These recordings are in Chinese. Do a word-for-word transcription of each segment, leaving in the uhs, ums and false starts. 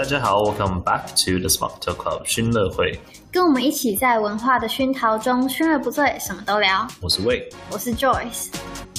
家好 ，Welcome back to the Smart Talk Club 熏樂會， 跟我們一起在文化的熏陶中，熏而不醉，什麼都聊。 我是魏， 我是 Joyce。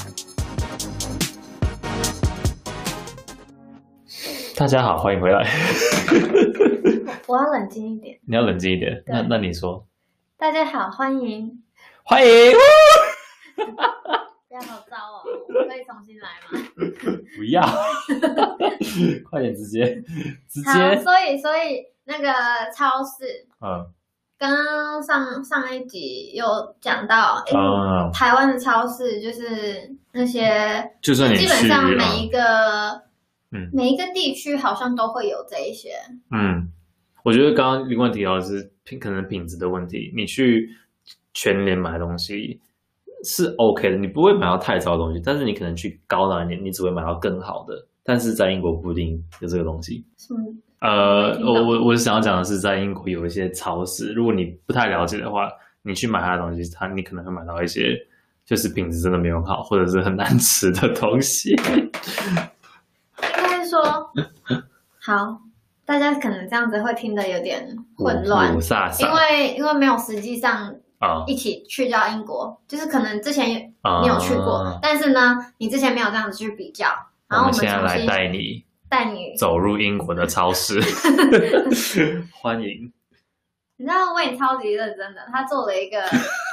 大家好，歡迎回來。 我要冷靜一點。 你要冷靜一點。那那你說。大家好，歡迎。 歡迎。 不要好糟哦，我可以重新來嗎？ 不要。快點，直接直接。 好，所以所以那個超市， 嗯， 剛剛上上一集有講到， 嗯， 台灣的超市就是那些， 就算你基本上每一個， 嗯， 每一個地區好像都會有這一些。 嗯，我覺得剛剛另外提到的是品，可能品質的問題。你去全聯買東西是 OK 的，你不會買到太糟的東西，但是你可能去高檔一點，你只會買到更好的。但是在英國不一定有這個東西。 嗯， 呃，我我我想要講的是，在英國有一些超市，如果你不太了解的話，你去買它的東西，它你可能會買到一些就是品質真的沒有好，或者是很難吃的東西。 應該是說，好，大家可能這樣子會聽得有點混亂， 霧煞煞， 因為因為沒有實際上啊一起去到英國，嗯、就是可能之前你有去過，啊、但是呢，你之前沒有這樣子去比較。然後我們現在來帶你帶你走入英國的超市，歡迎。 你知道魏超級認真的，他做了一個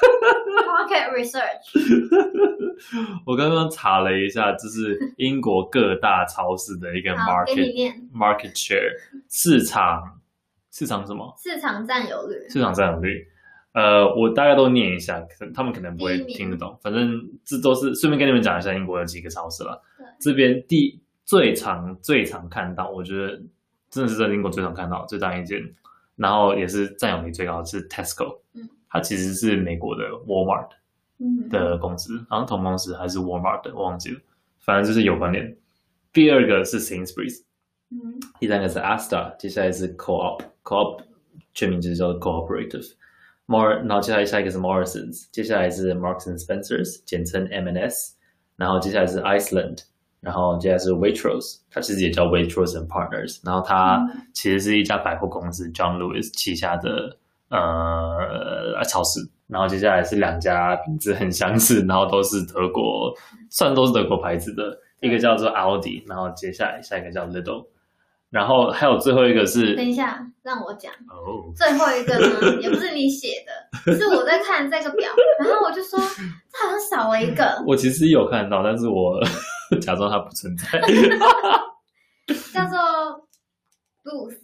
market research。 我剛剛查了一下，這是英國各大超市的一個 market market share 市場市場什麼？ 市場佔有率。市場佔有率。呃，我大概都念一下，可他們可能不會聽得懂。反正這都是順便跟你們講一下英國有幾個超市了。這邊第最常最常看到，我覺得真的是在英國最常看到最大一間，然後也是佔有率最高的是 Tesco，嗯，它其實是美國的 Walmart 的公司，好像同公司還是 Walmart 的，我忘記了，反正就是有關聯。第二個是 Sainsbury's，嗯，第三個是 Asda， 接下來是 Co-op，Co-op 全名就是叫做 Cooperative。More， 然後接下來下一個是 Morrisons， 接下來是 Marks and Spencers， 簡稱 M and S， 然後接下來是 Iceland， 然後接下來是 Waitrose， 它其實也叫 Waitrose and Partners， 然後它其實是一家百貨公司 John Lewis 旗下的呃超市，然後接下來是兩家名字很相似，然後都是德國，算都是德國牌子的，一個叫做 Aldi， 然後接下來下一個叫 Lidl。然後還有最後一個是， 等一下讓我講。 哦， 最後一個呢，也不是你寫的，是我在看這個表，然後我就說這好像少了一個。我其實有看到，但是我假裝它不存在。 叫做 Boots。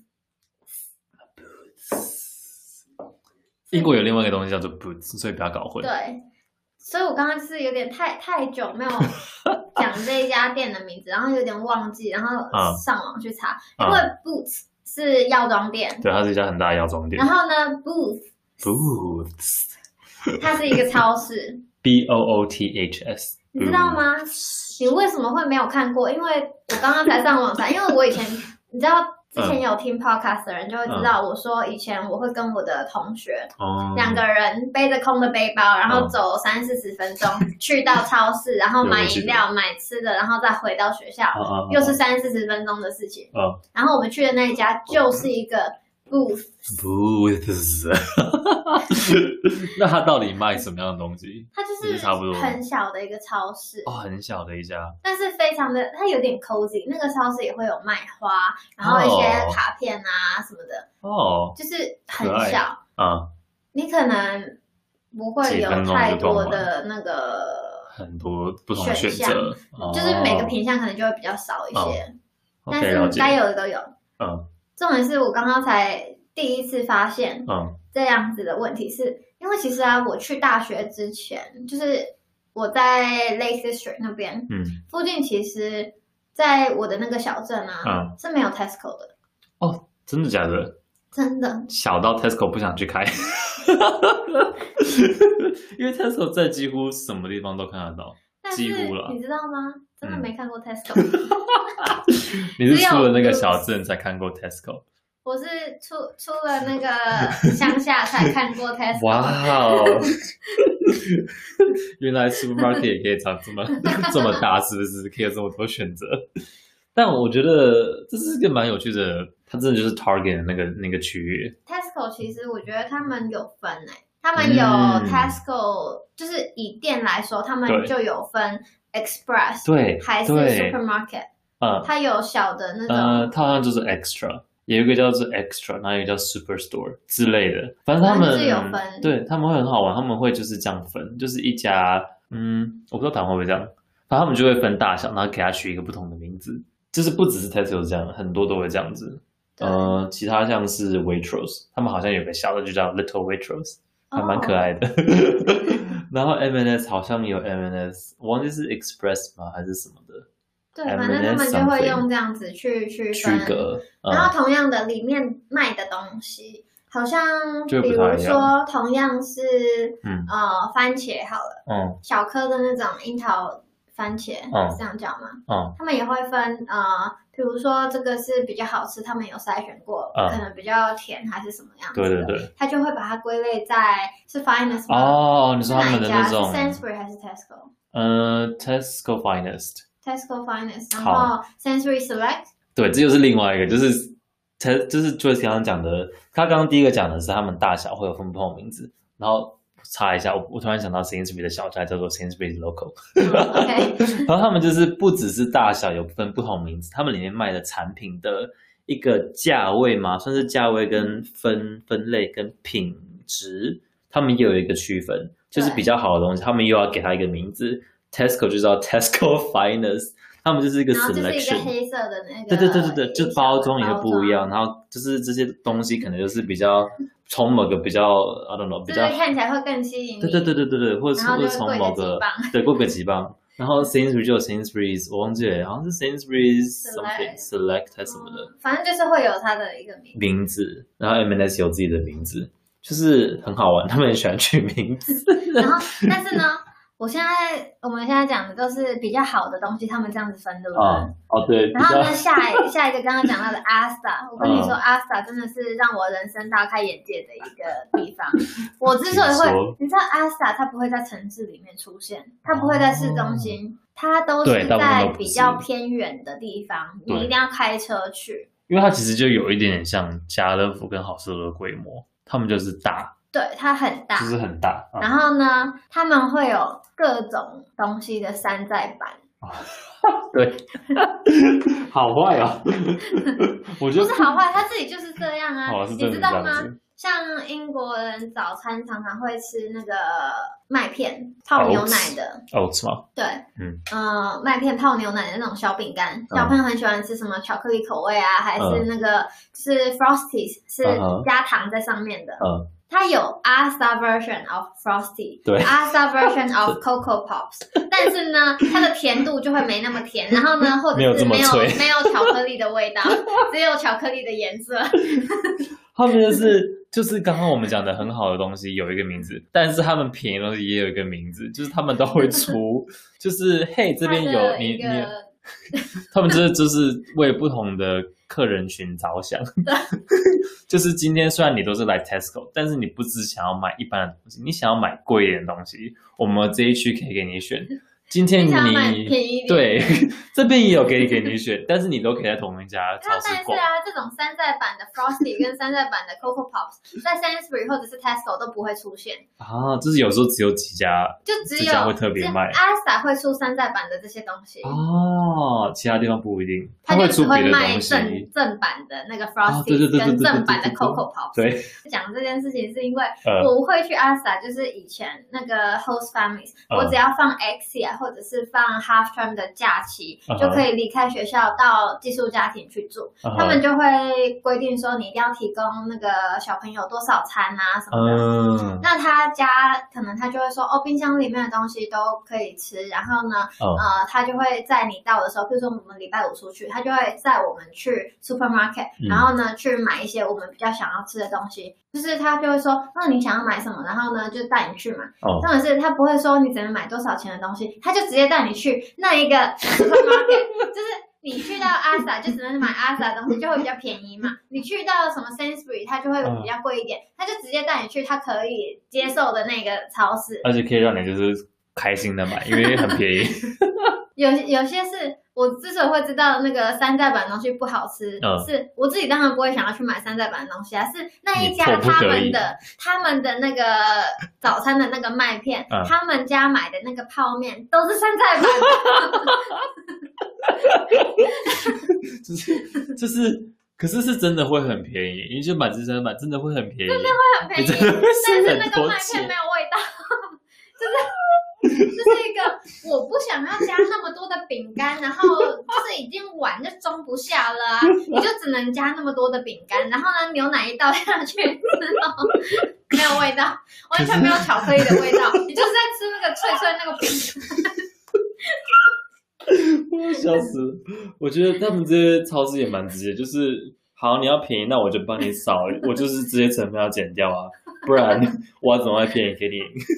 英國有另外一個東西叫做 Boots， 所以不要搞混。 對。所以我剛剛就是有點太太久沒有講這一家店的名字，然後有點忘記，然後上網去查，嗯、因為 Boots 是藥妝店， 對，它是一家很大的藥妝店。 然後呢 ，Boots Boots 它是一個超市 ，B O O T H S， 你知道嗎？你為什麼會沒有看過？因為我剛剛才上網查，因為我以前你知道。之前有聽 podcast 的人就會知道，我說以前我會跟我的同學兩、嗯、個人背着空的背包，然後走三四十分鐘、嗯、去到超市，然後買飲料、買吃的，然後再回到學校，嗯、又是三四十分鐘的事情、嗯。然後我們去的那一家就是一個 Boots。 Boots。那他到底賣什麼樣的東西？ 它就是差不多很小的一個超市哦，很小的一家，但是非常的，它有點 cozy。那個超市也會有賣花，然後一些卡片啊什麼的哦，就是很小啊、嗯。你可能不會有太多的那個很多不同選擇， 就是每個品項可能就會比較少一些， 哦、 但是該有的都有。 嗯， 重點是我剛剛才第一次發現，嗯。這樣子的問題是因為其實啊，我去大學之前，就是我在 Lake District 那邊，嗯，附近其實，在我的那個小鎮啊，嗯，是沒有 Tesco 的。 哦，真的假的？ 真的。小到 Tesco 不想去開，因為 Tesco 在幾乎什麼地方都看得到，幾乎了。 你知道嗎？真的沒看過 Tesco。 你是出了那個小鎮才看過 Tesco。 我是出出了那個鄉下才看過 Tesco。 哇哦！原來 supermarket 也可以長這麼這麼大，是不是？可以有這麼多選擇。 但我覺得這是一個蠻有趣的，它真的就是 Target 的那個那個區域。 Tesco 其實我覺得他們有分誒、欸，他們有 Tesco，、嗯、就是以店來說，他們就有分 Express， 對， 還是 Supermarket， 嗯， 它有小的那種， 呃，它好像就是 Extra。有一個叫做 Extra， 然後有一個叫 Superstore 之類的，反正他們是有分， 對，他們會很好玩，他們會就是這樣分，就是一家，嗯，我不知道台灣會不會這樣，反正他們就會分大小，然後給他取一個不同的名字，就是不只是 Tesco 這樣，很多都會這樣子。呃，其他像是 Waitrose， 他們好像有個小的就叫 Little Waitrose， 還蠻可愛的。Oh. 然後 M and S 好像有 M and S， 我忘記是 Express 嗎還是什麼的。 對，反正他們就會用這樣子去區分，區隔。嗯、然後同樣的，裡面賣的東西好像，比如說同樣是嗯呃番茄好了，嗯，小顆的那種櫻桃番茄，嗯，是這樣叫嗎？嗯，他們也會分呃，比如說這個是比較好吃，他們有篩選過，嗯、可能比較甜還是什麼樣子的，對對對，他就會把它歸類在是 Finest 嗎？哦，你說他們的那種 Sainsbury 還是 Tesco？ 呃 ，Tesco Finest。Tesco Finest， 然後 Sainsbury Select， 對，這就是另外一個，就是 T 就是 Joyce 剛剛講的，他剛剛第一個講的是他們大小會有分不同的名字，然後查一下，我我突然想到 Sainsbury 的小菜叫做 Sainsbury Local，OK， 然後他們就是不只是大小有分不同名字，他們裡面賣的產品的一個價位嘛，算是價位跟分分類跟品質，他們也有一個區分，就是比較好的東西，他們又要給它一個名字。Tesco 就叫 Tesco Finest， 他們就是一個 selection， 然後就是一個黑色的那個， 對對對對對，就包裝也會不一樣，然後就是這些東西可能就是比較從某個比較 I don't know 比較看起來會更吸引你， 對對對對對對，或者是從某個對過個幾磅，然後 Sainsbury 就有 Sainsbury's， 我忘記了，好像是 Sainsbury's something Select 還是什麼的， 反正就是會有它的一個名字， 名字，然後 M and S 有自己的名字，就是很好玩，他們很喜歡取名字， 然後但是呢。我現在我們現在講的都是比較好的東西，他們這樣子分，對不對？哦，哦對。然後呢，下一下一個剛剛講到的 Asda， 我跟你說、嗯、Asda 真的是讓我人生大開眼界的一個地方。我之所以會，你知道 Asda 它不會在城市裡面出現，它不會在市中心，哦、它都是在比較偏遠的地方，你一定要開車去。 因為它其實就有一點點像家樂福跟好市多的規模，他們就是大。 對，它很大， 就是很大。嗯、 然後呢，他們會有各種東西的山寨版。 對，好壞哦。我覺得不是好壞，他自己就是這樣啊。哦、你知道嗎？像英國人早餐常常會吃那個麥片泡牛奶的。 Oats 嗎？ 對，嗯，呃，麥片泡牛奶的那種小餅乾，小朋友很喜歡吃什麼巧克力口味啊，還是那個、嗯、是 Frosties， 是加糖在上面的。嗯。它有 Asda version of Frosty， 對 ，Asda version of Cocoa Pops， 但是呢，它的甜度就會沒那麼甜，然後呢，或者是沒有沒有，沒有巧克力的味道，只有巧克力的顏色。 他們就是就是剛剛我們講的很好的東西有一個名字，但是他們便宜的東西也有一個名字，就是他們都會出，就是嘿這邊有你你，他們就是就是為不同的客人群着想。就是今天雖然你都是來 Tesco， 但是你不只想要買一般的東西，你想要買貴一點的東西，我們這一區可以給你選。今天你, 你便宜對這邊也有給給你選，但是你都可以在同一家超市逛。但是啊， 這種山寨版的 Frosty 跟山寨版的 Cocoa Pops 在 Sainsbury 或者是 Tesco 都不會出現啊，就是有時候只有幾家， 就只有會特別賣。 Asda 會出山寨版的這些東西哦，其他地方不一定， 它就只會賣正正版的那個 Frosty 跟正版的 Cocoa Pops。對，講這件事情是因為我會去 Asda， 就是以前那個 Host Families，、呃、我只要放 Exia。或者是放 half term 的假期， uh-huh. 就可以離開學校到寄宿家庭去住。Uh-huh. 他們就會規定說，你一定要提供那個小朋友多少餐啊什麼的。Uh-huh. 那他家可能他就會說，哦，冰箱裡面的東西都可以吃。然後呢，uh-huh. 呃，他就會在你到的時候，比如說我們禮拜五出去，他就會載我們去 supermarket，、uh-huh. 然後呢去買一些我們比較想要吃的東西。就是他就會說，那你想要買什麼？然後呢就帶你去買。重點是他不會說你只能買多少錢的東西，他就直接帶你去那一個 supermarket， 就是你去到 Asda 就只能買 Asda 的東西，就會比較便宜嘛。你去到什麼 Sainsbury， 它就會比較貴一點，他就直接帶你去他可以接受的那個超市， 而且可以讓你就是開心的買，因為很便宜。 有有些是我之所以會知道那個山寨版的東西不好吃，嗯、是我自己當然不會想要去買山寨版的東西啊，是那一家他們的他們的那個早餐的那個麥片，嗯、他們家買的那個泡麵都是山寨版的， 就是就是，可是是真的會很便宜，你就買這山寨版真的會很便宜， 真的會很便宜，但是那個麥片沒有味道，就是。這是一個我不想要加那麼多的餅乾，然後就是已經碗就裝不下了啊，你就只能加那麼多的餅乾，然後呢牛奶一倒下去，然後沒有味道，完全沒有巧克力的味道，你就是在吃那個脆脆那個餅乾。 我要笑死了！我覺得他們這些超市也蠻直接，就是好你要便宜，那我就幫你少，我就是直接成本要減掉啊，不然我要怎麼會便宜給你？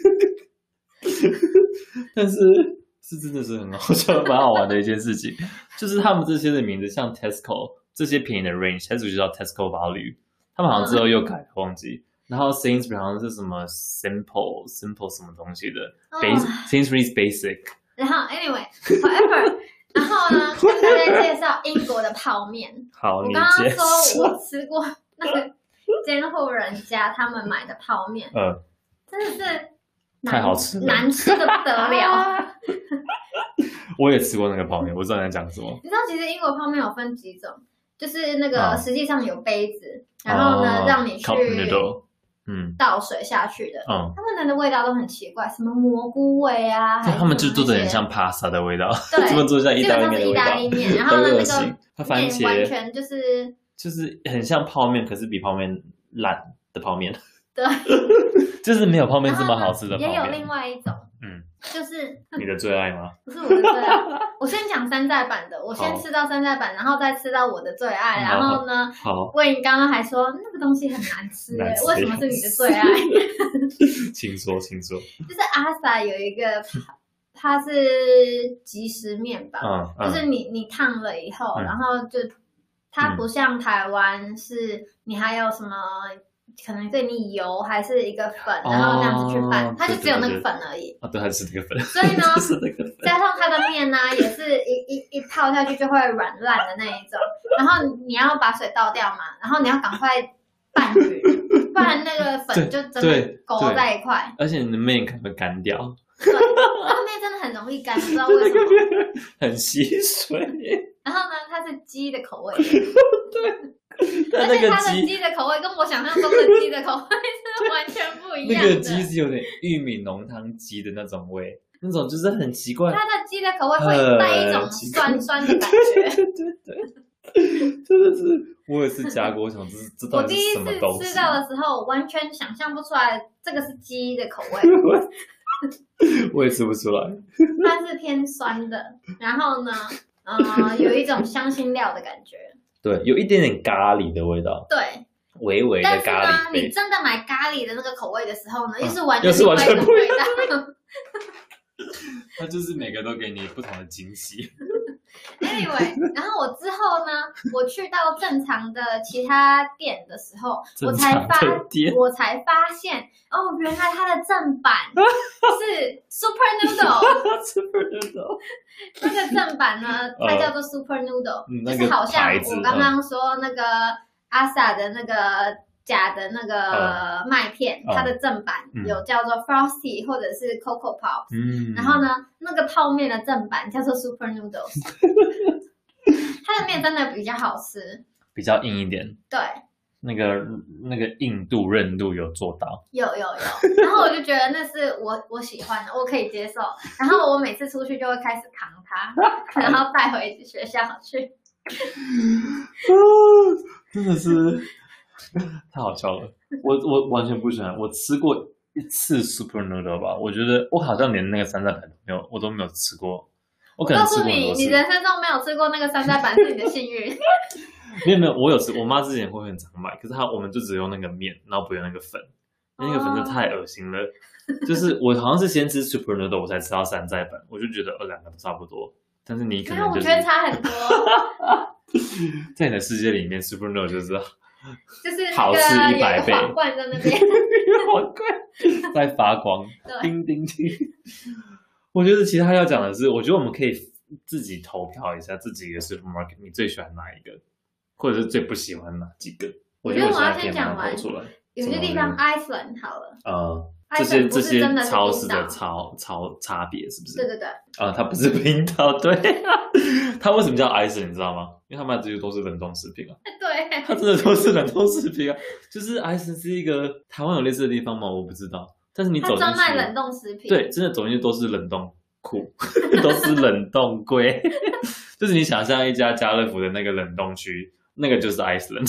但是是真的是很好笑、蠻好玩的一件事情，就是他們這些的名字，像 Tesco 這些便宜的 range，Tesco 就叫 Tesco Value， 他們好像之後又改了，忘記。然後 Sainsbury 好像是什麼 Simple Simple 什麼東西的、oh. Sainsbury's Basic。然後 Anyway，whatever， 然後呢，跟大家介紹英國的泡麵。 好， 我剛剛說我吃過那個監護人家他們買的泡麵，嗯，真的是。 太好吃了， 難吃的不得了。 我也吃過那個泡麵，我知道你在講什麼。 你知道其實英國泡麵有分幾種，就是那個實際上有杯子，哦、然後呢、哦、讓你去嗯倒水下去的。嗯，他們的味道都很奇怪，什麼蘑菇味啊， 他們就做的很像 pasta 的味道， 對， 他們做像意大利麵的味道。 意大利麵，然後呢那個它番茄完全就是就是很像泡麵，可是比泡麵爛的泡麵。 對， 就是沒有泡麵這麼好吃的泡麵。 也有另外一種，嗯，就是你的最愛嗎？ 不是我的最愛。我先講山寨版的，我先吃到山寨版，然後再吃到我的最愛。然後呢， 好， 魏剛剛還說那個東西很難吃，難吃為什麼是你的最愛？ 請說，請說。 就是阿 sa 有一個，它是即食麵吧，嗯嗯、就是你你燙了以後，嗯、然後就它不像台灣是，你還有什麼？可能對你油還是一個粉，哦、然後這樣子去拌，它就只有那個粉而已。 啊，對，還是那個粉。 所以呢，加上它的麵呢、啊，也是一一一泡下去就會軟爛的那一種。然後你要把水倒掉嘛，然後你要趕快拌勻，不然那個粉就真的勾在一塊。 而且你的麵可能會乾掉。 對，那個麵真的很容易乾，不知道為什麼。 很吸水。 然後呢，它是雞的口味。 對。 而且它的雞的口味跟我想象中的雞的口味是完全不一樣的。 那個雞是有點玉米濃湯雞的那種味，那種就是很奇怪。 它的雞的口味會帶一種酸酸的感覺。對對對， 真的是，我也是加過，我想這是這到底是什麼東西？ 我第一次吃到的時候，我完全想象不出來這個是雞的口味。 我也吃不出來。 它是偏酸的，然後呢，呃，有一種香辛料的感覺。 對，有一點點咖喱的味道。 對， 微微的咖喱。但是呢，你真的買咖喱的那個口味的時候呢，又、 啊、 是完全另外一種味道。 它就是每個都給你不同的驚喜。 Anyway， 然後我之後呢，我去到正常的其他店的時候，我才發，我才發現，哦，原來它的正版是 Super Noodle。Super Noodle。那個正版呢，它叫做 Super Noodle，、嗯、就是好像我剛剛說那個阿 sa 的那個假的那個麥片，嗯、它的正版有叫做 Frosty 或者是 Coco Pop，、嗯、然後呢，那個泡麵的正版叫做 Super Noodles， 它的麵真的比較好吃， 比較硬一點， 對， 那個那個硬度韌度有做到， 有有有，然後我就覺得那是我我喜歡的，我可以接受，然後我每次出去就會開始扛它，然後帶回學校去， 真的是。太好笑了，我我完全不喜歡。我吃過一次 Super Noodle 吧，我覺得我好像連那個山寨版都沒有，我都沒有吃過。我可能吃過很多次。我告訴你，你人生中沒有吃過那個山寨版是你的幸運。 沒有沒有，我有吃。我媽之前會很常買，可是她我們就只用那個麵，然後不用那個粉，因為那個粉真的太噁心了。Oh. 就是我好像是先吃 Super Noodle， 我才吃到山寨版，我就覺得呃兩個都差不多。但是你可能、就是、 我覺得差很多。 在你的世界裡面 ，Super Noodle 就是。 就是好吃一百倍， 皇冠在那邊， 皇冠在發光，叮叮叮。我覺得其他要講的是，我覺得我們可以自己投票一下自己的 supermarket， 你最喜歡哪一個，或者是最不喜歡哪幾個？ 我覺得我要先講完，有些地方 Iceland 好了， 呃，這些這些超市的超超差別是不是？ 對对對， 啊、呃，它不是冰島，對、啊，它為什麼叫 Iceland 你知道嗎？因為它賣的這些都是冷凍食品啊， 對， 它真的都是冷凍食品啊，就是 Iceland 是一個台灣有類似的地方嗎？我不知道，但是你走進去， 它專賣冷凍食品， 對，真的走進去都是冷凍庫，都是冷凍櫃，就是你想象一家家樂福的那個冷凍區，那個就是 Iceland。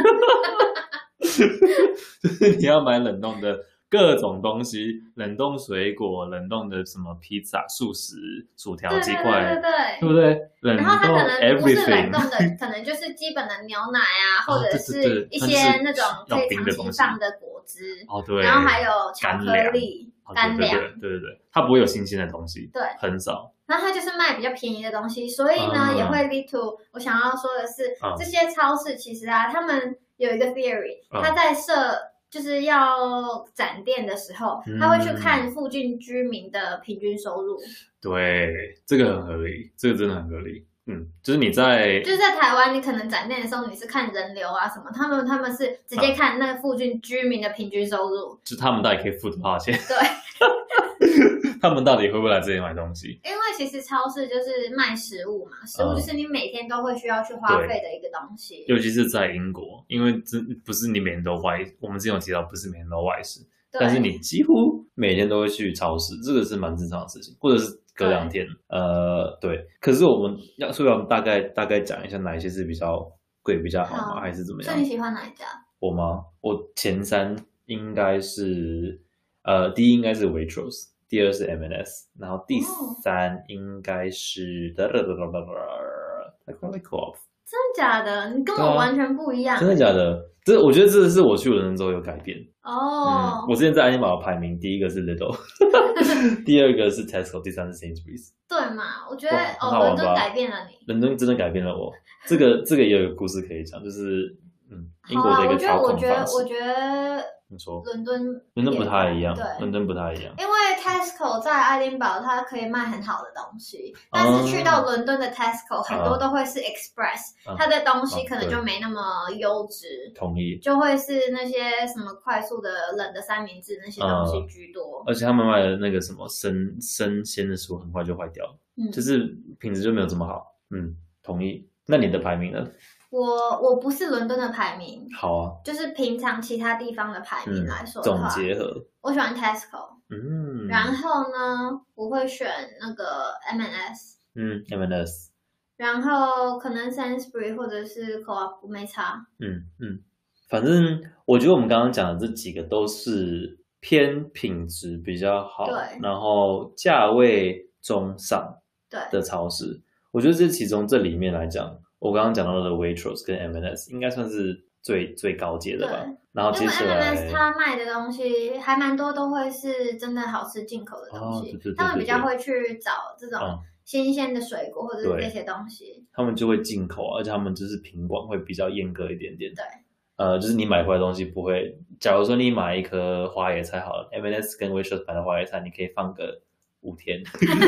就是你要買冷凍的各種東西，冷凍水果、冷凍的什麼披薩、速食、薯條、雞塊，對對對，對不對？冷凍 everything，然後它可能不是冷凍的，可能就是基本的牛奶啊，或者是一些那種可以長期放的果汁，哦對，然後還有巧克力、乾糧，對對對對，它不會有新鮮的東西，對，很少。那它就是賣比較便宜的東西，所以呢、嗯、也會 lead to 我想要說的是，嗯、這些超市其實啊，他們有一個 theory，他在設就是要展店的時候，嗯、他會去看附近居民的平均收入。對，這個很合理，這個真的很合理。嗯，就是你在就是在台灣，你可能展店的時候，你是看人流啊什麼，他們他們是直接看那個附近居民的平均收入，啊、就他們到底可以付多少錢？對。他們到底會不會來這裡買東西？因為其實超市就是賣食物嘛，食物就是你每天都會需要去花費的一個東西。尤其是在英國，因為這不是你每天都外，我們之前有提到不是每天都外食，但是你幾乎每天都會去超市，這個是蠻正常的事情，或者是隔兩天。呃，對。可是我們要，所以我們大概大概講一下哪一些是比較貴比較好嗎？好，還是怎麼樣？所以你喜歡哪一家？我嗎？我前三應該是，呃，第一應該是 Waitrose。第二是 M and S， 然後第三應該是的的的的的的 Co-op。真的假的？你跟我完全不一樣。啊、真的假的？這我覺得這是我去倫敦之後有改變。哦、oh. 嗯。我之前在愛丁堡排名，第一個是 Lidl， 第二個是 Tesco， 第三是 Sainsbury's。對嘛？我覺得哦，倫敦改變了你。倫敦真的改變了我。這個這個也有一個故事可以講，就是嗯，英國的一個操控方式。我覺得，我覺得，我覺得。你說倫敦，倫敦不太一樣，對，倫敦不太一樣。因為 Tesco 在愛丁堡，它可以賣很好的東西，但是去到倫敦的 Tesco，、嗯、很多都會是 Express，、嗯、它的東西可能就沒那麼優質。同意。就會是那些什麼快速的冷的三明治那些東西居多。嗯、而且他們賣的那個什麼生生鮮的食物很快就壞掉了，嗯，就是品質就沒有這麼好。嗯，同意。那你的排名呢？我我不是倫敦的排名，好啊，就是平常其他地方的排名來說的話，嗯、總結合，我喜歡 Tesco， 嗯，然後呢，我會選那個 M and S， 嗯 ，M and S， 然後可能 Sainsbury 或者是 Co-op 沒差，嗯嗯，反正我覺得我們剛剛講的這幾個都是偏品質比較好，對，然後價位中上的超市，對，我覺得這其中這裡面來講。我剛剛講到的 Waitrose 跟 M and S 應該算是最最高階的吧。然後接下來，因為 M and S 它賣的東西還蠻多，都會是真的好吃進口的東西。哦、對對對對對，他們比較會去找這種新鮮的水果或者是這些東西。嗯、他們就會進口，而且他們就是品管會比較嚴格一點點。對，呃，就是你買回來的東西不會。假如說你買一顆花椰菜好了 ，M and S 跟 Waitrose 買的花椰菜，你可以放個五天。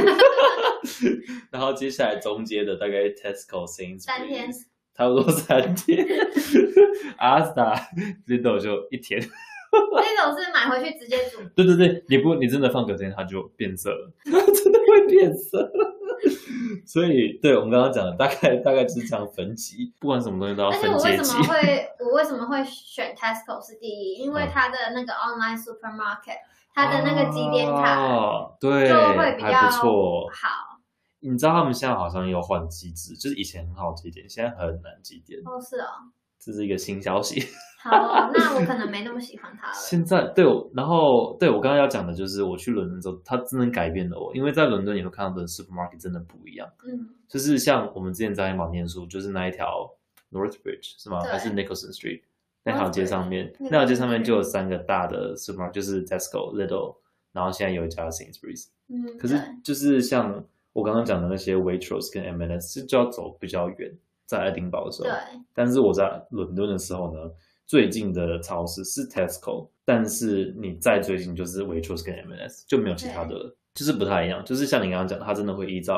然後接下來中間的大概 Tesco、Sainsbury's 三天，差不多三天。Asda、Lidl 就一天。Lidl 是買回去直接煮。對對對，你不你真的放隔天它就變色了，真的會變色。所以，對我們剛剛講的大概大概就是這樣分級，不管什麼東西都要分階級。而且我為什麼會我為什麼會選 Tesco 是第一？因為它的那個 online supermarket。它的那個積點卡，哦、對，就會比較還不錯。好，你知道他們現在好像有換機制，就是以前很好積點，現在很難積點。哦，是哦，這是一個新消息。好、哦，那我可能沒那麼喜歡它了。現在對，然後對我剛剛要講的就是，我去倫敦之後，它真的改變了我，因為在倫敦你會看到的 supermarket 真的不一樣。嗯，就是像我們之前在愛丁堡念書，就是那一條 Northbridge 是嗎？還是 Nicholson Street？那條街上面，那條街上面就有三個大的 supermarket， 就是 Tesco、Lidl， 然後現在有一家 Sainsbury's。嗯，可是就是像我剛剛講的那些 Waitrose 跟 M and S， 就要走比較遠，在愛丁堡的時候。對。但是我在倫敦的時候呢，最近的超市是 Tesco， 但是你再最近就是 Waitrose 跟 M and S， 就沒有其他的了，就是不太一樣。就是像你剛剛講的，它真的會依照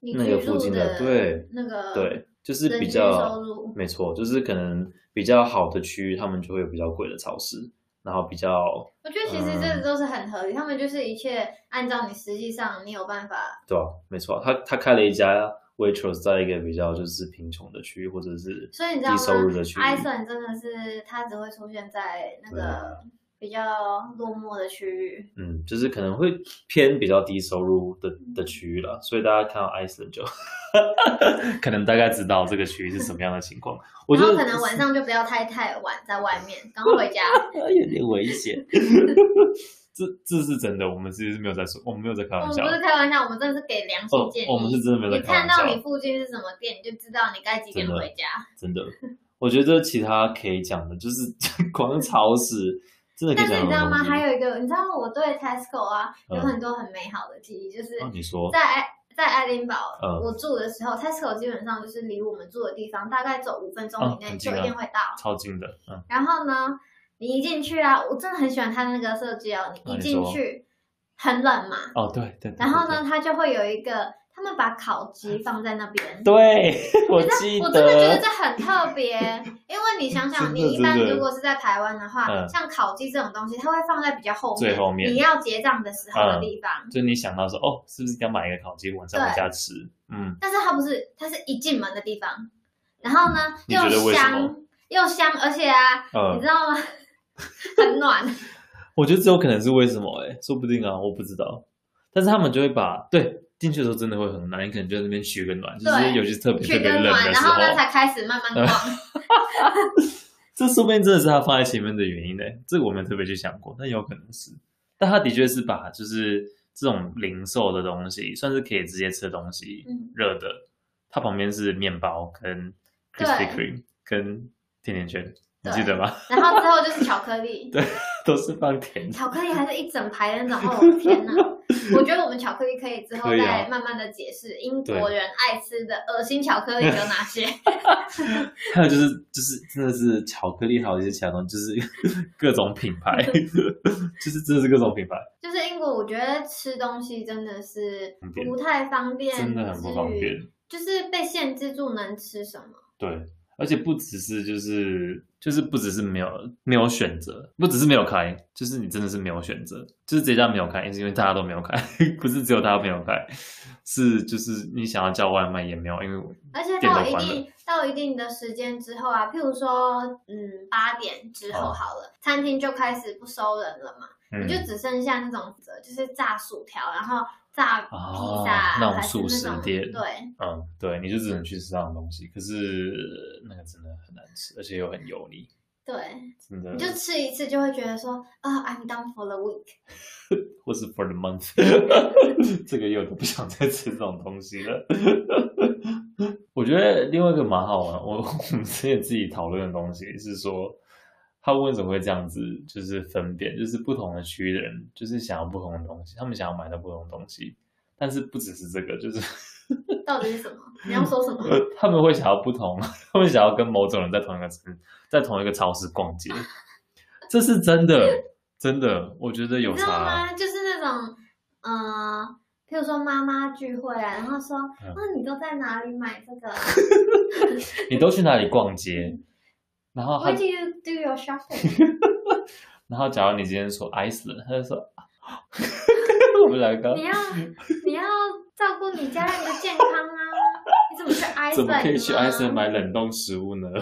那個附近的，對， 那個對，就是比較沒錯，就是可能比較好的區域，他們就會有比較貴的超市，然後比較， 我覺得其實這都是很合理，嗯、他們就是一切按照你實際上你有辦法， 對啊，沒錯，他他開了一家 Waitrose 在一個比較就是貧窮的區域或者是低收入的區域， Iceland 真的是它只會出現在那個比較落寞的區域， 嗯，就是可能會偏比較低收入的的區域啦，所以大家看到 Iceland 就可能大概知道這個區域是什麼樣的情況。我覺得可能晚上就不要太太晚在外面，剛回家有點危險。這這是真的，我們其實是沒有在說，我們沒有在開玩笑。 我們不是開玩笑，我們真的是給良心建議。 哦、我們是真的沒有在開玩笑。 你看到你附近是什麼店，你就知道你該幾點回家。 真的，真的我覺得其他可以講的，就是光超市真的可以講。但是你知道嗎？ 還有一個，你知道我對 Tesco 啊有很多很美好的記憶，嗯、就是你說在愛在愛丁堡、 嗯、 我住的時候 ，Tesco 基本上就是離我們住的地方大概走五分鐘以內就一定會到， 超近的。嗯、 然後呢？你一進去啊，我真的很喜歡它那個設計哦。你一進去，很冷嘛。 哦，對對。 然後呢，它就會有一個，他們把烤雞放在那邊。 對，我記得。 我真的覺得這很特別，因為你想想，你一般如果是在台灣的話，像烤雞這種東西，它會放在比較後面， 最後面， 你要結賬的時候的地方。 就你想到說，哦，是不是要買一個烤雞，晚上回家吃？嗯。 但是它不是，它是一進門的地方，然後呢，又香又香，而且啊，你知道嗎？很暖， 我覺得這有可能是為什麼哎、欸，說不定啊，我不知道。但是他們就會把對進去的時候真的會很暖，你可能就在那邊取個暖，就是尤其是特別特別冷的時候， 然後呢才開始慢慢逛。 這說不定真的是他放在前面的原因呢、欸，這個我沒有特別去想過，但有可能是。但他的確是把就是這種零售的東西，算是可以直接吃的東西，嗯、熱的，它旁邊是麵包跟 Krispy Kreme 跟甜甜圈。你記得嗎？ 然後之後就是巧克力， 對，都是放甜。 巧克力還是一整排的那種，哦天哪！我覺得我們巧克力可以之後再慢慢的解釋英國人愛吃的噁心巧克力有哪些。 還有就是就是真的是巧克力，還有一些其他東西，就是各種品牌，就是真的是各種品牌。就是英國，我覺得吃東西真的是不太方便， 真的很不方便， 就是被限制住能吃什麼。 對。而且不只是就是就是不只是沒有沒有選擇，不只是沒有開，就是你真的是沒有選擇，就是這家沒有開，也是因為大家都沒有開，不是只有他沒有開，是就是你想要叫外賣也沒有，因為而且到一定到一定的時間之後啊，譬如說嗯八點之後好了，哦、餐廳就開始不收人了嘛，嗯、你就只剩下那種就是炸薯條，然後。炸披薩、 哦、那種速食店， 對， 嗯，對，你就只能去吃這樣的東西，可是那個真的很難吃，而且又很油膩。 對， 真的， 你就吃一次就會覺得說啊、oh, ，I'm done for the week， 或是 for the month， 這個又都不想再吃這種東西了。我覺得另外一個蠻好玩，我我們之前自己討論的東西是說。他為什麼會這樣子？就是分辨，就是不同的區域的人，就是想要不同的東西，他們想要買到不同的東西，但是不只是這個，就是到底是什麼？你要說什麼？ 他們會想要不同，他們想要跟某種人在同一個在同一個超市逛街，這是真的，真的，我覺得有差。你知道嗎？ 就是那種，嗯、呃，譬如說媽媽聚會啊，然後說，嗯、啊，你都在哪裡買這個？ 你都去哪裡逛街？然後他 Where do you do your shopping？ 然後假如你今天說 Iceland， 他就說我們兩個你要你要照顧你家人的健康啊！你怎麼去 Iceland？ 怎麼可以去 Iceland 買冷凍食物呢？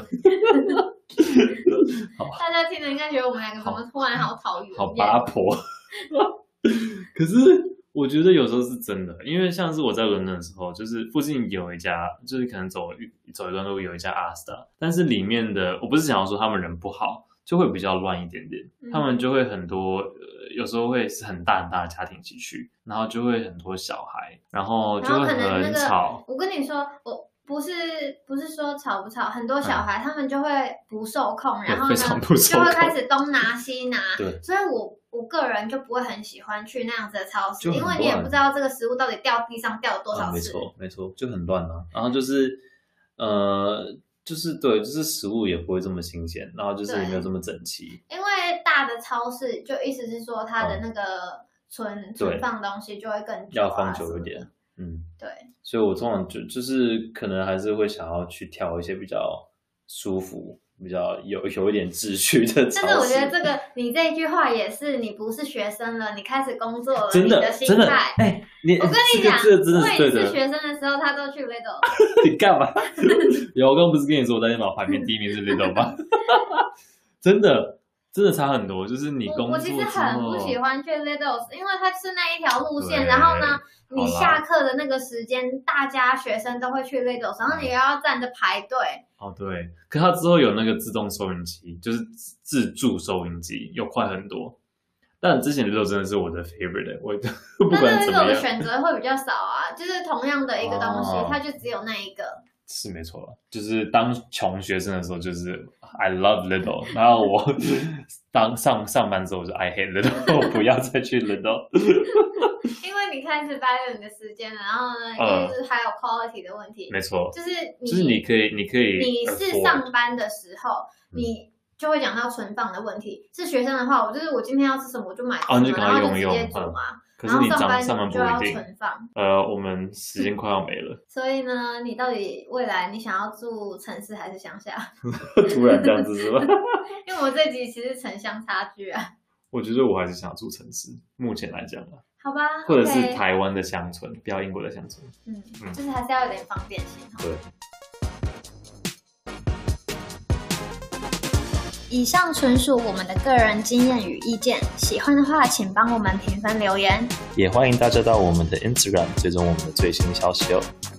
大家聽了應該覺得我們兩個怎麼突然好討厭， 好八婆。可是我覺得有時候是真的，因為像是我在倫敦的時候，就是附近有一家，就是可能走一走一段路有一家 Asda， 但是裡面的我不是想要說他們人不好，就會比較亂一點點，嗯、他們就會很多、呃，有時候會是很大很大的家庭一起去，然後就會很多小孩，然後就會很吵。 那個、我跟你說，我不是不是說吵不吵，很多小孩、嗯、他們就會不受控，然後呢就會開始東拿西拿，對，所以我。我個人就不會很喜歡去那樣子的超市，因為你也不知道這個食物到底掉地上掉了多少次。 嗯、沒錯，沒錯，就很亂啊。然後就是，呃，就是對，就是食物也不會這麼新鮮，然後就是也沒有這麼整齊。 因為大的超市，就意思是說它的那個存、嗯、存放東西就會更久、啊、 要放久一點。嗯， 對， 所以我通常就就是可能還是會想要去挑一些比較舒服、比較有有一點秩序的超市。但是我覺得這個你這一句話也是，你不是學生了，你開始工作了， 真的你的心真的態。 哎，你我跟你講， 這個、這個、 我也是學生的時候，他都去 Lidl。 你幹嘛？有，我剛剛不是跟你說我在電腦排名第一名是 Lidl 嗎？真的。真的差很多，就是你工作之後， 我，我其實很不喜歡去 Lidl， 因為它是那一條路線，然後呢，你下課的那個時間，大家學生都會去 Lidl， 然後你又要站着排隊。 哦，對，可它之後有那個自動收銀機，就是自助收銀機，又快很多。但之前 Lidl 真的是我的 favorite， 我不管怎麼樣，但是 Lidl 的選擇會比較少啊，就是同樣的一個東西，哦、它就只有那一個。 是沒錯了，就是當窮學生的時候，就是 I love Lidl， 然後我當上上班之後，我就 I hate Lidl， 我不要再去 Lidl。 因為你開始掰了你的時間了，然後呢，因為就是還有 quality 的問題， 沒錯， 就是你就是你可以，你可以， 你是上班的時候，嗯、你就會講到存放的問題。是學生的話，我就是我今天要吃什麼，我就買什麼，哦、然後就直接煮嘛。嗯可是你上班上班不一定存放。 呃，我們時間快要沒了。 所以呢，你到底未來你想要住城市還是鄉下？ 突然這樣子是吧？ 因為我這集其實城鄉差距啊。 我覺得我還是想住城市，目前來講啊。 好吧。 或者是台灣的鄉村，不要英國的鄉村。 嗯，嗯就是還是要有點方便性。 對。 以上純屬我們的個人經驗與意見，喜歡的話請幫我們評分留言， 也歡迎大家到我們的 Instagram 追蹤我們的最新消息哦。